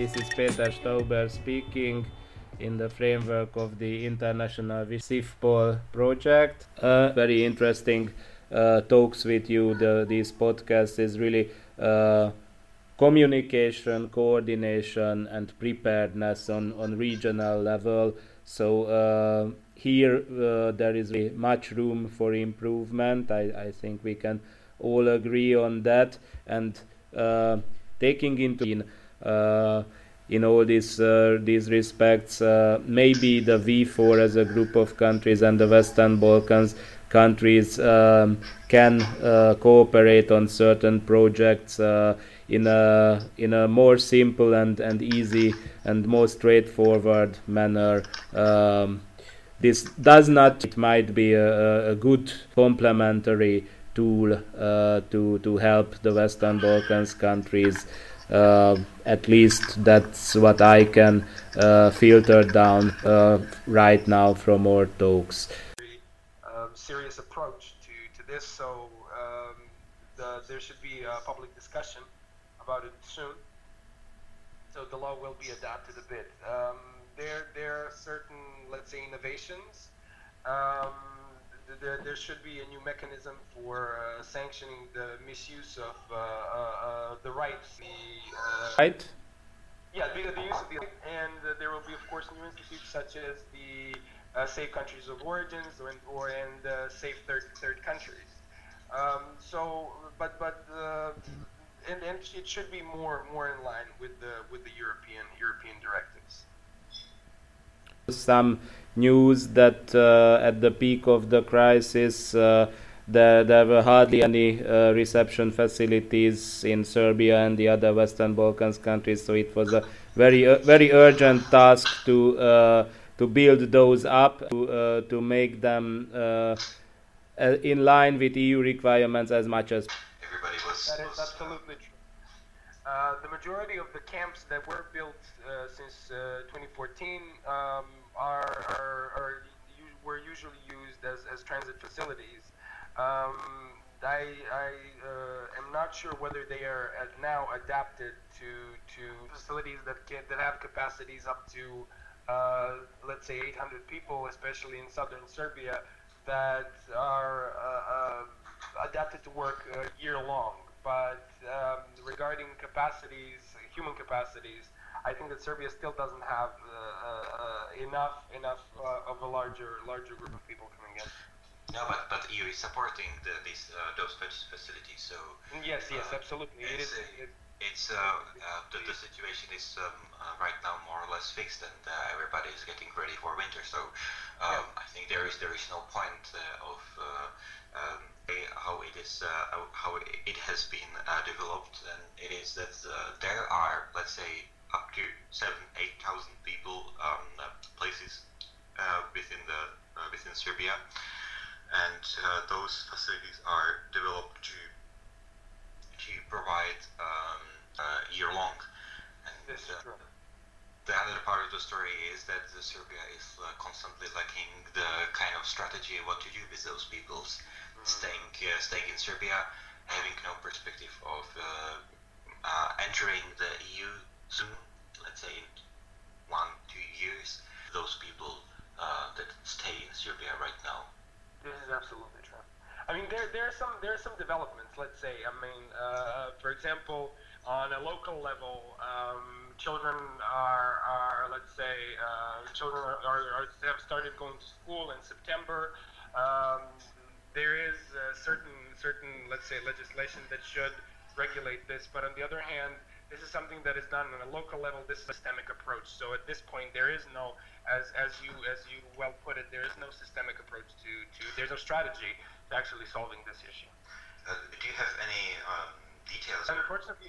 This is Peter Stauber speaking in the framework of the International CIFPOL project. Very interesting talks with you. This podcast is really communication, coordination, and preparedness on regional level. So here there is really much room for improvement. I think we can all agree on that. And taking into in all these respects, maybe the V4 as a group of countries and the Western Balkans countries can cooperate on certain projects in a more simple and easy and more straightforward manner. This does not. It might be a good complementary tool to help the Western Balkans countries. At least that's what I can filter down right now from our talks. Serious approach to this, so there should be a public discussion about it soon. So the law will be adapted a bit. There are certain, let's say, innovations. There should be a new mechanism for sanctioning the misuse of the rights. Right? Yeah, the use of the right, and there will be, of course, new institutes such as the safe countries of origins and safe third countries. And it should be more in line with the European directives. Some news that at the peak of the crisis there were hardly any reception facilities in Serbia and the other Western Balkans countries, so it was a very urgent task to build those up, to make them in line with EU requirements as much as everybody was. That is absolutely true. The majority of the camps that were built since 2014 were usually used as transit facilities. I am not sure whether they are now adapted to facilities that have capacities up to let's say 800 people, especially in southern Serbia, that are adapted to work year long. But regarding capacities, human capacities, I think that Serbia still doesn't have enough of a larger group of people coming in. No, but EU is supporting those facilities. So yes, absolutely. The situation is right now more or less fixed, and everybody is getting ready for winter. So I think there is no point of how it has been developed, and it is that there are, let's say, up to 7,000-8,000 people places within Serbia, and those facilities are developed to provide year long. And the other part of the story is that Serbia is constantly lacking the kind of strategy what to do with those peoples staying in Serbia, having no perspective of entering the EU soon, let's say in 1-2 years. Those people that stay in Serbia right now. This is absolutely true. I mean, there are some developments. Let's say, I mean, for example, on a local level, children are let's say, have started going to school in September. There is certain let's say legislation that should regulate this, but on the other hand, this is something that is done on a local level. This is a systemic approach. So at this point, there is no, as you well put it, there is no systemic approach to there's no strategy to actually solving this issue. Do you have any details? Unfortunately,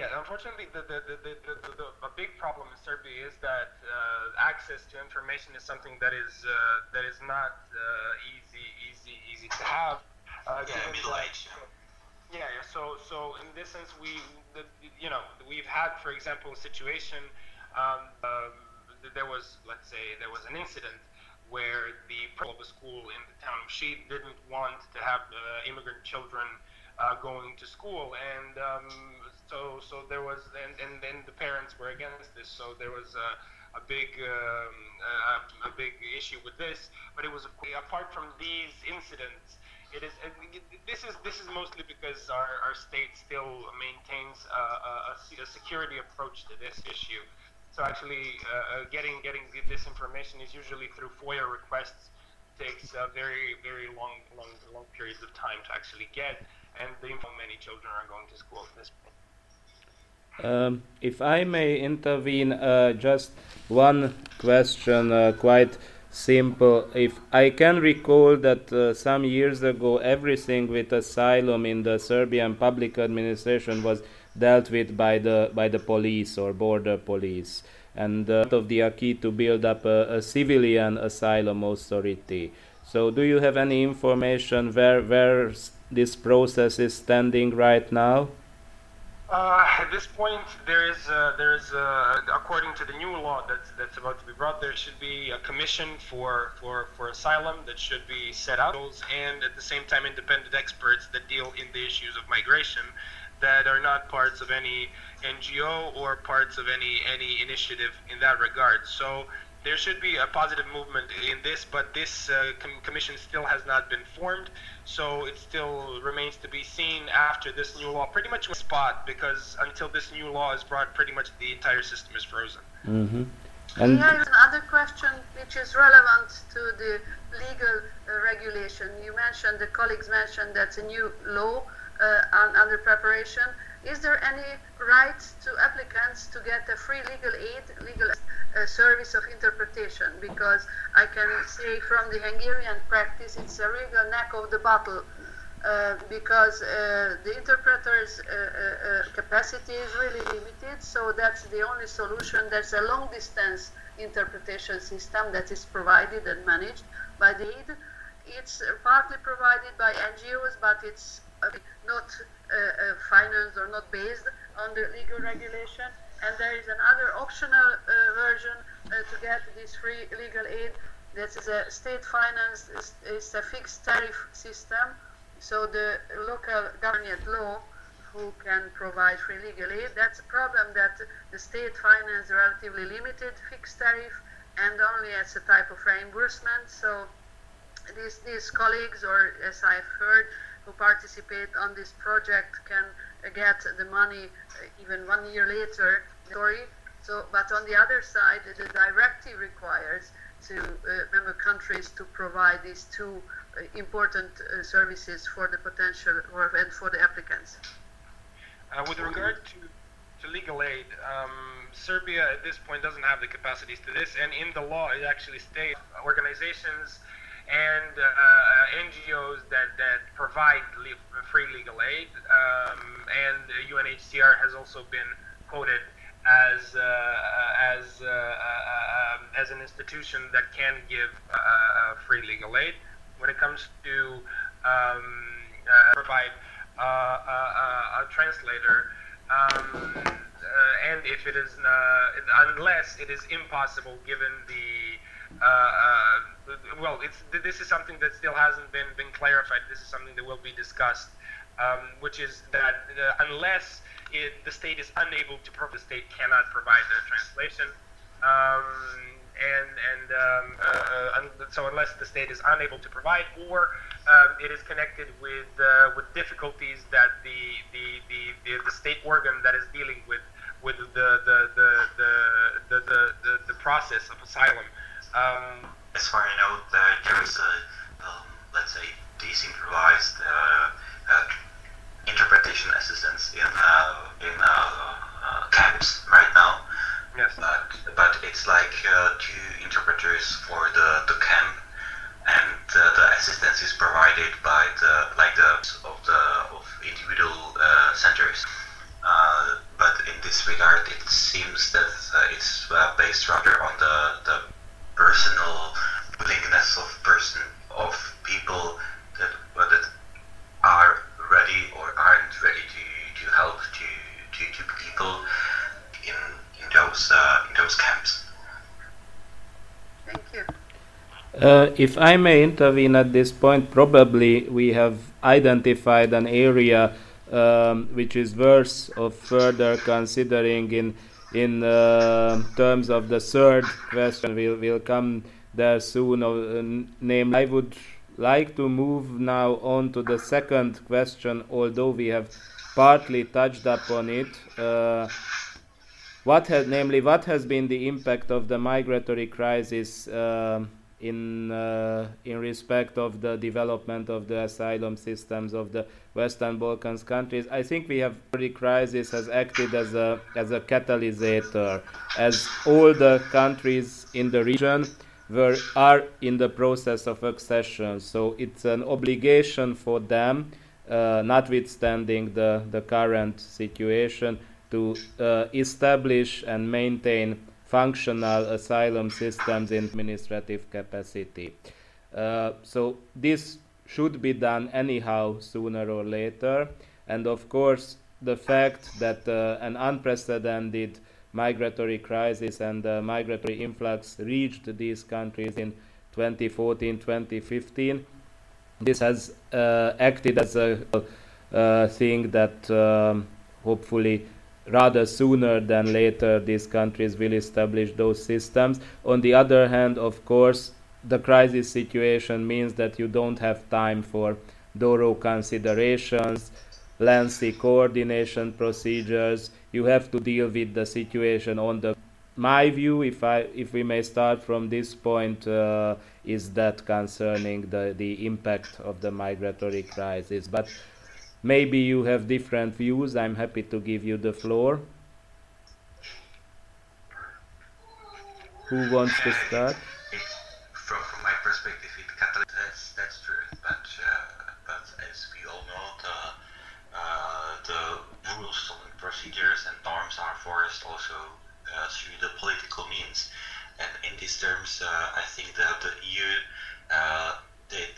the big problem in Serbia is that access to information is something that is not easy to have. Middle age. Yeah. So in this sense, we've had, for example, a situation. There was an incident where the principal of a school in the town of Sheed didn't want to have immigrant children going to school, and So there was, and then the parents were against this. So there was a big issue with this. But it was apart from these incidents. This is mostly because our state still maintains a security approach to this issue. So actually, getting this information is usually through FOIA requests. Takes very long periods of time to actually get, and many children are going to school at this point. If I may intervene, just one question, quite simple. If I can recall that some years ago everything with asylum in the Serbian public administration was dealt with by the police or border police, and of the acquis to build up a civilian asylum authority. So do you have any information where this process is standing right now? At this point, there is according to the new law that's about to be brought, there should be a commission for asylum that should be set up, and at the same time, independent experts that deal in the issues of migration that are not parts of any NGO or parts of any initiative in that regard. So there should be a positive movement in this, but this commission still has not been formed, so it still remains to be seen after this new law. Pretty much on the spot, because until this new law is brought, pretty much the entire system is frozen. Mm-hmm. And here is another question which is relevant to the legal regulation. You mentioned, the colleagues mentioned that's a new law under preparation. Is there any right to applicants to get a free legal aid, service of interpretation? Because I can say from the Hungarian practice, it's a real neck of the battle, because the interpreters' capacity is really limited, so that's the only solution. There's a long-distance interpretation system that is provided and managed by the aid. It's partly provided by NGOs, but it's not financed or not based on the legal regulation. And there is another optional version to get this free legal aid. That is a state financed, is a fixed tariff system. So the local government law who can provide free legal aid, that's a problem, that the state finance relatively limited fixed tariff and only as a type of reimbursement. So these colleagues, or as I've heard, who participate on this project can get the money even 1 year later. So, but on the other side, the directive requires member countries to provide these two important services for the potential and for the applicants. With regard to legal aid, Serbia at this point doesn't have the capacities to this, and in the law it actually states organizations and NGOs that provide free legal aid, and UNHCR has also been quoted as an institution that can give free legal aid. When it comes to provide a translator, and if it is unless it is impossible given the this is something that still hasn't been clarified. This is something that will be discussed, which is that unless the state is unable to provide, the state cannot provide the translation, so unless the state is unable to provide, or it is connected with difficulties that the state organ that is dealing with the process of asylum. As far as I know, there is a let's say decentralized interpretation assistance in camps right now. Yes. But it's like 2 interpreters for the camp, and the assistance is provided by of individual centers. But in this regard, it seems that it's based rather on the personal willingness of people that are ready or aren't ready to help to people in those camps. Thank you. If I may intervene at this point, probably we have identified an area which is worth of further considering in terms of the third question. We'll come there soon. Namely, I would like to move now on to the second question, although we have partly touched upon it. What has been the impact of the migratory crisis in respect of the development of the asylum systems of the Western Balkans countries? I think the crisis has acted as a catalysator, as all the countries in the region are in the process of accession. So it's an obligation for them, notwithstanding the current situation, to establish and maintain functional asylum systems in administrative capacity. So this should be done anyhow, sooner or later. And of course, the fact that an unprecedented migratory crisis and migratory influx reached these countries in 2014-2015, this has acted as a thing that hopefully rather sooner than later these countries will establish those systems. On the other hand, of course, the crisis situation means that you don't have time for thorough considerations, lengthy coordination procedures. You have to deal with the situation on the... My view, if we may start from this point, is that concerning the impact of the migratory crisis. But maybe you have different views. I'm happy to give you the floor. Who wants to start? From my perspective, that's true. But as we all know, the rules and procedures and norms are forced also through the political means. And in these terms, I think that the EU did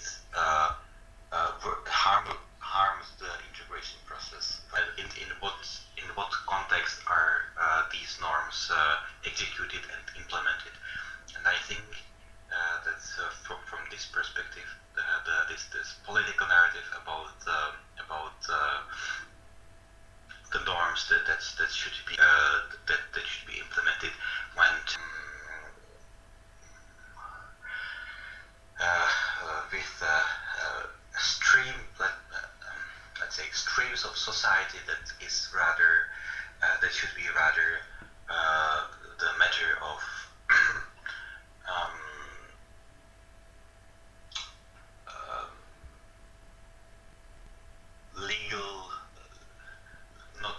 harms the integration process. In what context are these norms executed and implemented? And I think that from this perspective, this political narrative about the norms that should be implemented went with stream, let's say, streams of society that is rather that should be rather the matter of legal, not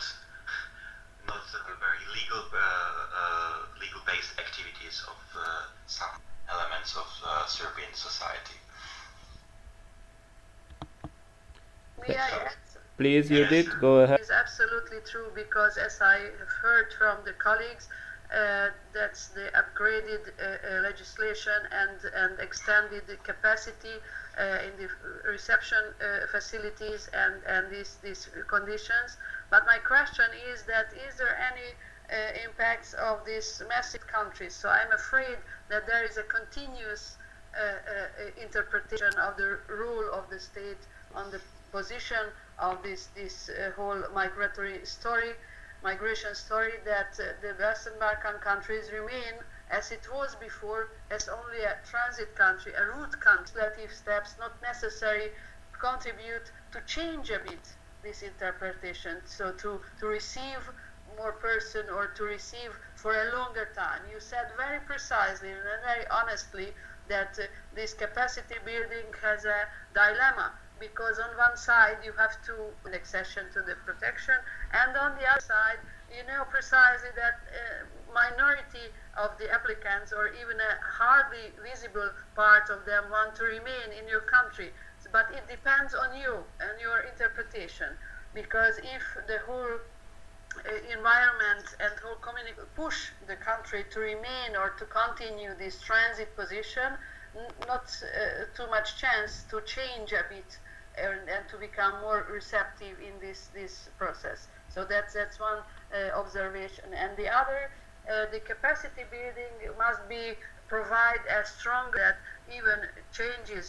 very legal based activities of some elements of Serbian society. Please, Judith, go ahead. It's absolutely true, because as I have heard from the colleagues, that's the upgraded legislation and extended the capacity in the reception facilities and these conditions. But my question is there any impacts of these massive countries? So I'm afraid that there is a continuous interpretation of the role of the state on the position of this whole migration story, that the Western Balkan countries remain, as it was before, as only a transit country, a route country. Legislative steps not necessary contribute to change a bit this interpretation, so to receive more person or to receive for a longer time. You said very precisely and very honestly that this capacity building has a dilemma, because on one side you have to accession to the protection, and on the other side you know precisely that minority of the applicants, or even a hardly visible part of them, want to remain in your country. But it depends on you and your interpretation, because if the whole environment and whole community push the country to remain or to continue this transit position, not too much chance to change a bit and to become more receptive in this process. So that's one observation. And the other, the capacity building must be provide as strong that even changes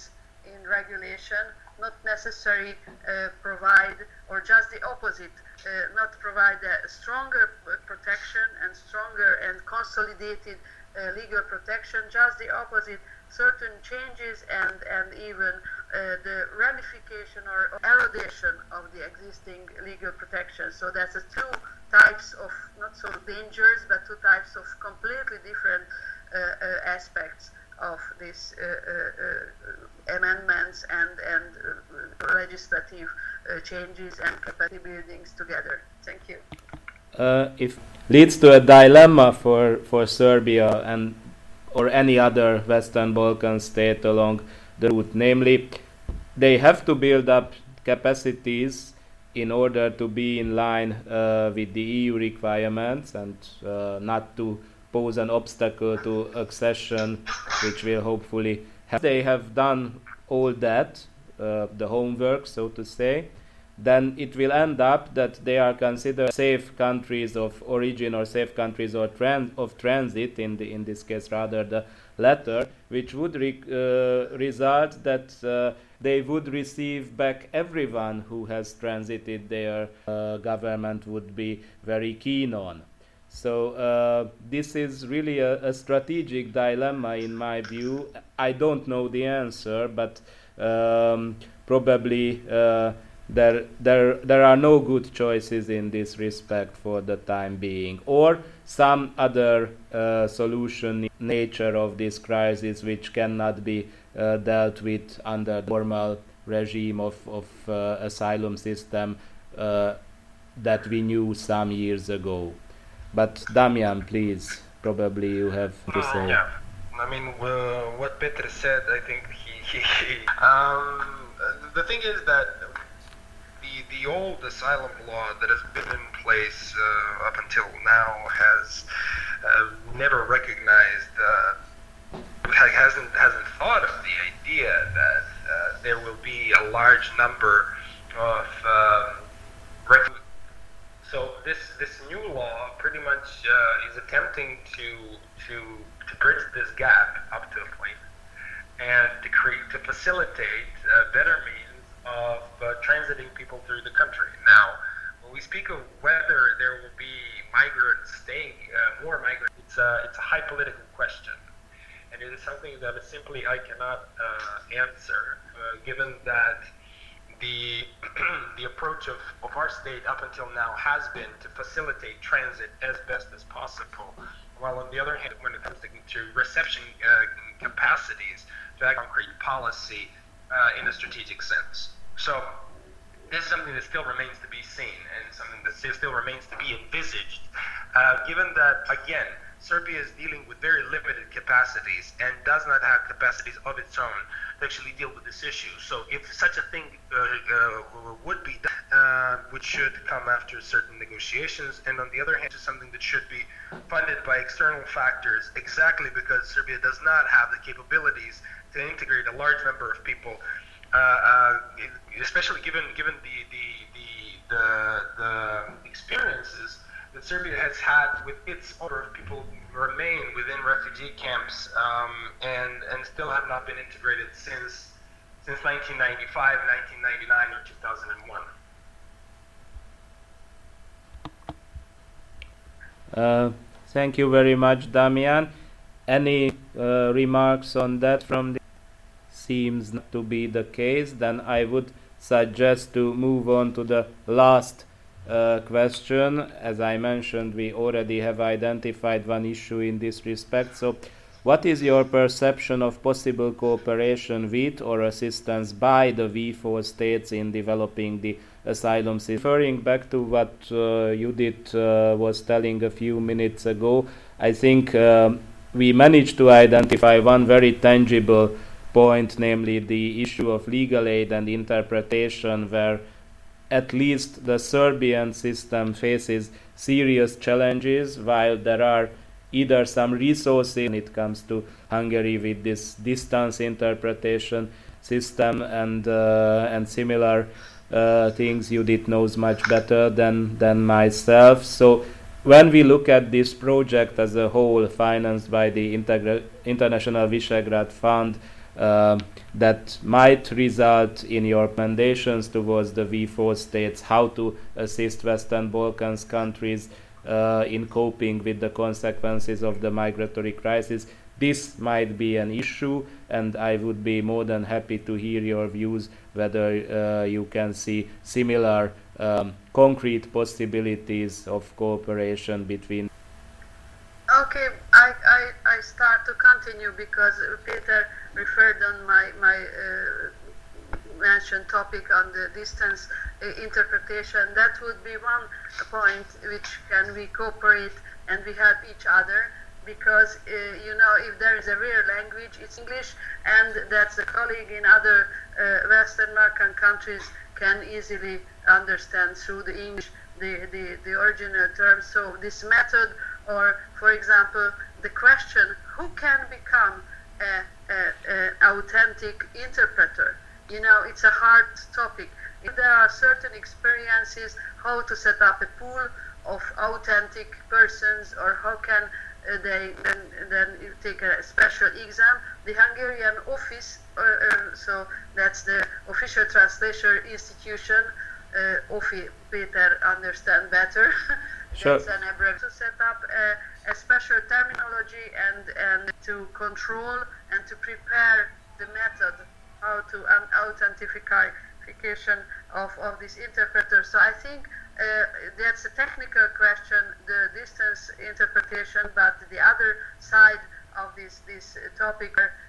in regulation, not necessarily provide, or just the opposite, not provide a stronger protection and stronger and consolidated legal protection, just the opposite, certain changes and even the ramification or erodation of the existing legal protection. So that's two types of, not so dangerous, but two types of completely different aspects of these amendments and legislative changes and capacity buildings together. Thank you. If leads to a dilemma for Serbia and or any other Western Balkan state along the route, namely they have to build up capacities in order to be in line with the EU requirements and not to pose an obstacle to accession, which will hopefully have. They have done all that, the homework, so to say, then it will end up that they are considered safe countries of origin or safe countries of transit, in this case rather the latter, which would result that they would receive back everyone who has transited their government would be very keen on. So this is really a strategic dilemma in my view. I don't know the answer, but probably there are no good choices in this respect for the time being, or some other solution in nature of this crisis which cannot be dealt with under the normal regime of asylum system that we knew some years ago. But Damian, please, probably you have to say. Yeah, I mean, what Peter said, I think the thing is that the old asylum law that has been in place up until now has never recognized, hasn't thought of the idea that there will be a large number of refugees. So this new law pretty much is attempting to bridge this gap up to a point and to facilitate better means of transiting people through the country. Now, when we speak of whether there will be migrants staying, more migrants, it's a high political question, and it is something that simply I cannot answer, given that the approach of our state up until now has been to facilitate transit as best as possible, while on the other hand, when it comes to reception capacities, to act concrete policy in a strategic sense. So this is something that still remains to be seen and something that still remains to be envisaged, given that, again, Serbia is dealing with very limited capacities and does not have capacities of its own to actually deal with this issue. So if such a thing would be done, which should come after certain negotiations, and on the other hand, is something that should be funded by external factors, exactly because Serbia does not have the capabilities to integrate a large number of people, especially given the experiences that Serbia has had with its number of people who remain within refugee camps and still have not been integrated since 1995, 1999, or 2001. Thank you very much, Damian. Any remarks on that from the seems not to be the case? Then I would suggest to move on to the last question. As I mentioned, we already have identified one issue in this respect. So what is your perception of possible cooperation with or assistance by the V4 states in developing the asylum system? Referring back to what Judith was telling a few minutes ago, I think we managed to identify one very tangible point, namely the issue of legal aid and interpretation, where at least the Serbian system faces serious challenges, while there are either some resources when it comes to Hungary with this distance interpretation system and similar things. Judith knows much better than myself. So when we look at this project as a whole, financed by the International Visegrad Fund, that might result in your recommendations towards the V4 states how to assist Western Balkans countries in coping with the consequences of the migratory crisis. This might be an issue, and I would be more than happy to hear your views whether you can see similar concrete possibilities of cooperation between. Okay, I start to continue because Peter referred on my mentioned topic on the distance interpretation. That would be one point which can we cooperate and we help each other, because if there is a real language, it's English, and that's a colleague in other Western Balkan countries can easily understand through the English the original terms. So this method, or for example the question, who can become an authentic interpreter? It's a hard topic. If there are certain experiences how to set up a pool of authentic persons, or how can they then take a special exam. The Hungarian office, so that's the official translation institution, OFI, Peter understand better. Sure. That's an abbreviation to set up a special terminology and to control and to prepare the method how to authentication of this interpreter. So I think that's a technical question, the distance interpretation, but the other side of this topic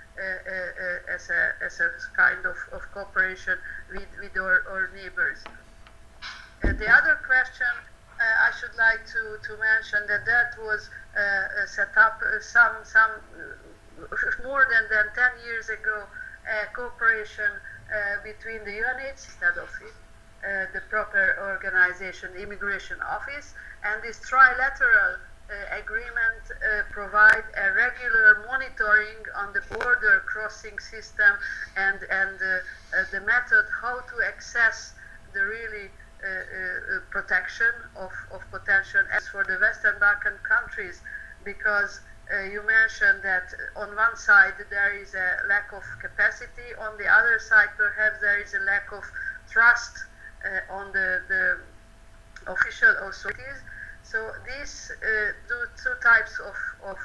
as a kind of cooperation with our neighbors. The other question I should like to mention that was set up some more than 10 years ago, cooperation between the UNHCR instead of the proper organization, the Immigration Office, and this trilateral agreement provide a regular monitoring on the border crossing system and the method how to access the really protection of potential as for the Western Balkan countries, because you mentioned that on one side there is a lack of capacity, on the other side perhaps there is a lack of trust on the official authorities. So these two types of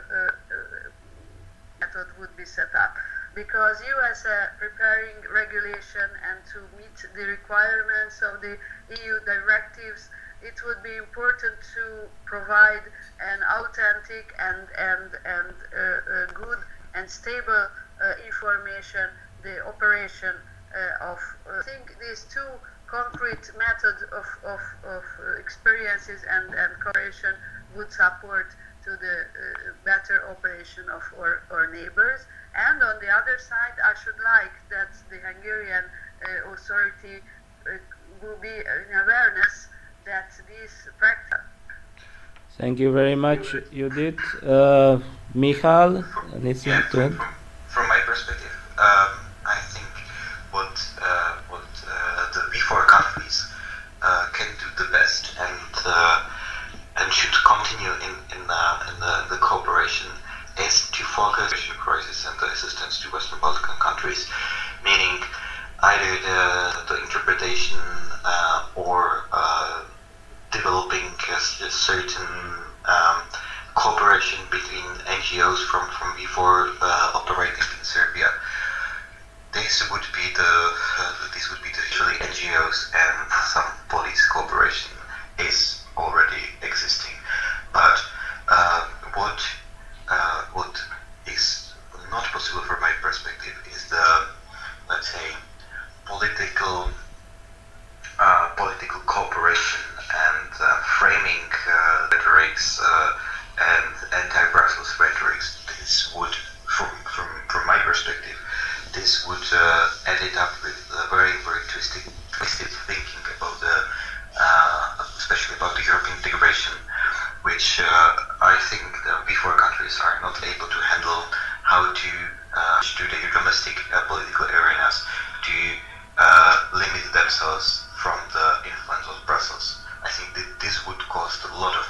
method would be set up, because you as a preparing regulation and to meet the requirements of the EU directives, it would be important to provide an authentic and good and stable information, the operation of. I think these two concrete methods of experiences and cooperation would support to the better operation of our neighbors. And on the other side, I should like that the Hungarian authority will be in awareness that this practice. Thank you very much, Judith. Michal, anything to add? From my perspective, I think what the V4 countries can do the best and should continue in the cooperation is to focus on the crisis and the assistance to Western Balkan countries, meaning either the interpretation or developing a certain cooperation between NGOs from V4 operating in Serbia. This would be usually NGOs, and some police cooperation is already existing. But what is not possible from my perspective is the, let's say, political cooperation and framing rhetorics and anti-Brussels rhetorics. This would, from my perspective, this would add it up with very twisted thinking about especially about the European integration, which I think the V4 countries are not able to handle. How to their domestic political arenas to limit themselves from the influence of Brussels. I think that this would cause a lot of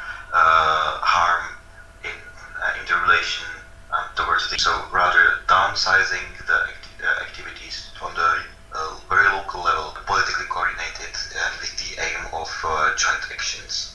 harm in the relation towards the. So rather than centralizing the activities on the very local level, politically coordinated, and with the aim of joint actions?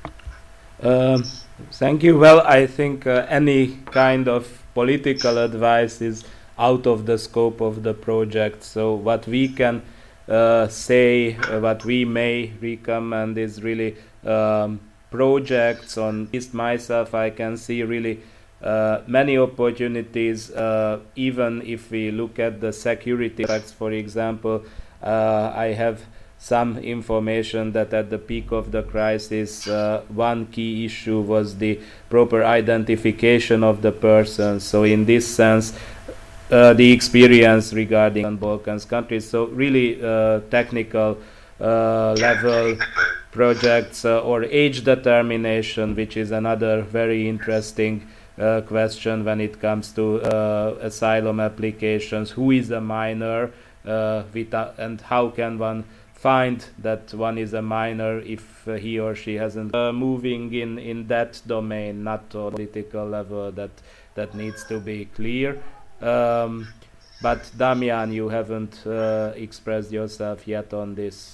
Thank you. Well, I think any kind of political advice is out of the scope of the project. So what we can say, what we may recommend is really projects. On at least myself, I can see really many opportunities, even if we look at the security aspects. For example, I have some information that at the peak of the crisis, one key issue was the proper identification of the person. So in this sense, the experience regarding Balkans countries, so really technical level projects, or age determination, which is another very interesting question when it comes to asylum applications. Who is a minor, and how can one find that one is a minor if he or she hasn't moving in that domain, not on political level, that needs to be clear. But Damian, you haven't expressed yourself yet on this.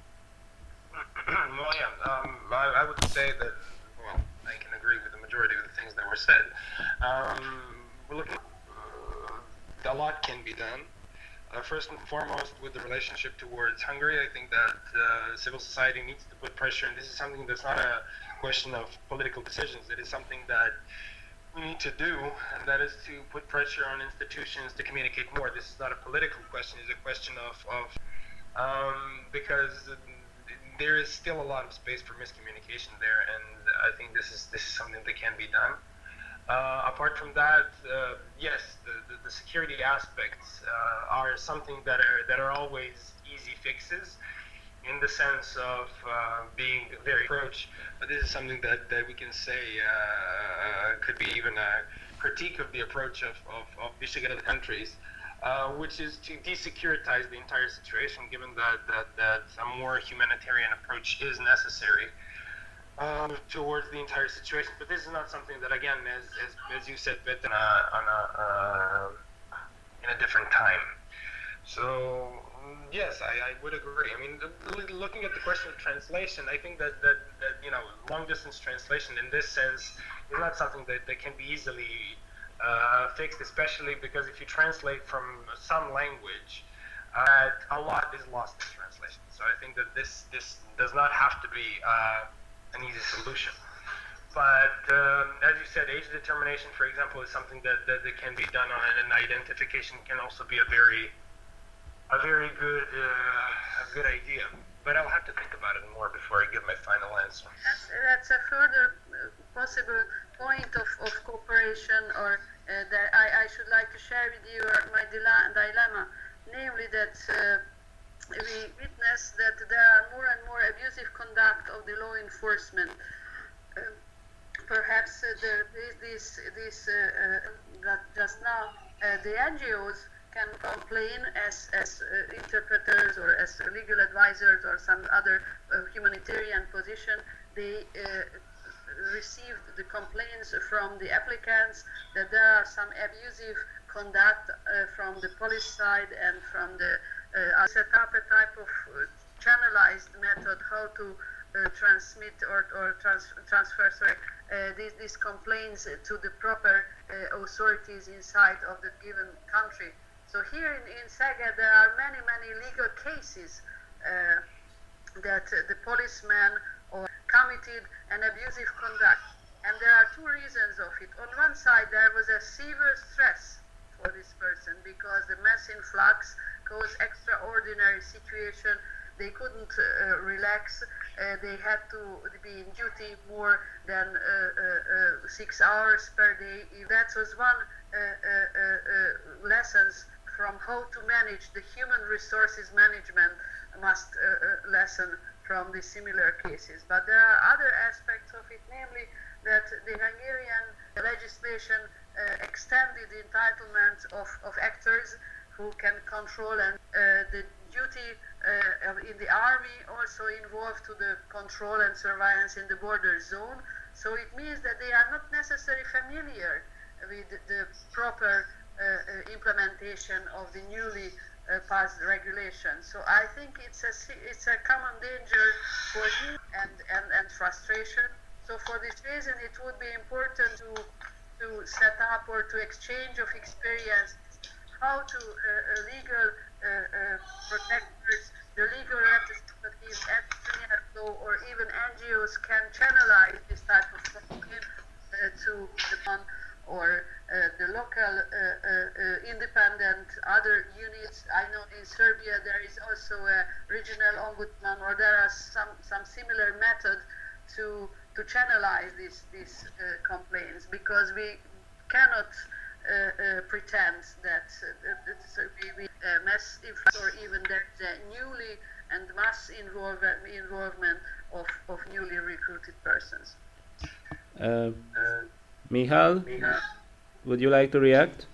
Well, yeah, I would say that, well, I can agree with the majority of the things that were said. We're looking, a lot can be done. First and foremost, with the relationship towards Hungary, I think that civil society needs to put pressure, and this is something that's not a question of political decisions. It is something that we need to do, and that is to put pressure on institutions to communicate more. This is not a political question; it's a question of because there is still a lot of space for miscommunication there, and I think this is something that can be done. Apart from that, yes, the security aspects are something that are always easy fixes, in the sense of being very approach. But this is something that we can say could be even a critique of the approach of Visegrad countries, which is to desecuritize the entire situation, given that a more humanitarian approach is necessary towards the entire situation. But this is not something that, again, as you said, but in a different time. So yes, I would agree. I mean, looking at the question of translation, I think that long distance translation in this sense is not something that can be easily fixed, especially because if you translate from some language, a lot is lost in translation. So I think that this does not have to be an easy solution. But as you said, age determination, for example, is something that can be done on it, and identification can also be a very good idea. But I'll have to think about it more before I give my final answer. That's a further possible point of cooperation, or that I should like to share with you my dilemma, namely that we witness that there are more and more abusive conduct of the law enforcement. Perhaps there is this that just now the NGOs can complain as interpreters or as legal advisors or some other humanitarian position. They received the complaints from the applicants that there are some abusive conduct from the police side and from the set up a type of channelized method how to transmit or transfer these complaints to the proper authorities inside of the given country. So here in Szeged there are many legal cases that the policeman or committed an abusive conduct, and there are two reasons of it. On one side, there was a severe stress for this person because the mass influx caused extraordinary situation. They couldn't relax. They had to be in duty more than 6 hours per day. That was one lessons from how to manage the human resources management must lesson from the similar cases. But there are other aspects of it, namely that the Hungarian legislation extended the entitlements of actors who can control, and the duty in the army also involved to the control and surveillance in the border zone. So it means that they are not necessarily familiar with the proper implementation of the newly passed regulation. So I think it's a common danger for you and frustration. So for this reason, it would be important to set up or to exchange of experience how to legal protectors, the legal representatives, and or even NGOs can channelize this type of complaint to the or the local independent other units. I know in Serbia there is also a regional ombudsman, or there are some similar method to channelize these complaints, because we cannot pretend that we mass influence, or even there's a newly and mass involvement of newly recruited persons. Michal, would you like to react?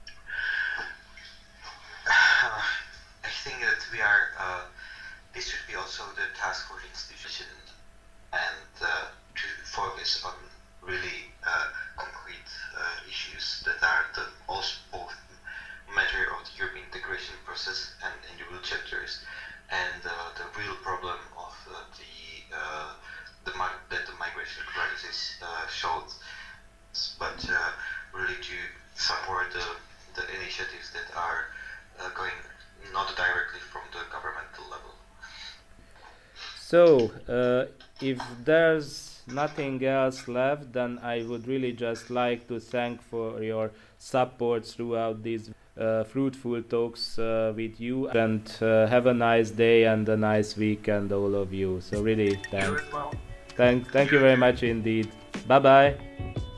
I think that we are. This should be also the task for the institution, and to focus on really concrete issues that are both matter of the European integration process and individual chapters, and the real problem of that the migration crisis showed. But really to support the initiatives that are going not directly from the governmental level. So, if there's nothing else left, then I would really just like to thank for your support throughout these fruitful talks with you, and have a nice day and a nice weekend, all of you. So really, thanks. You as well. Thank you very much indeed. Bye bye.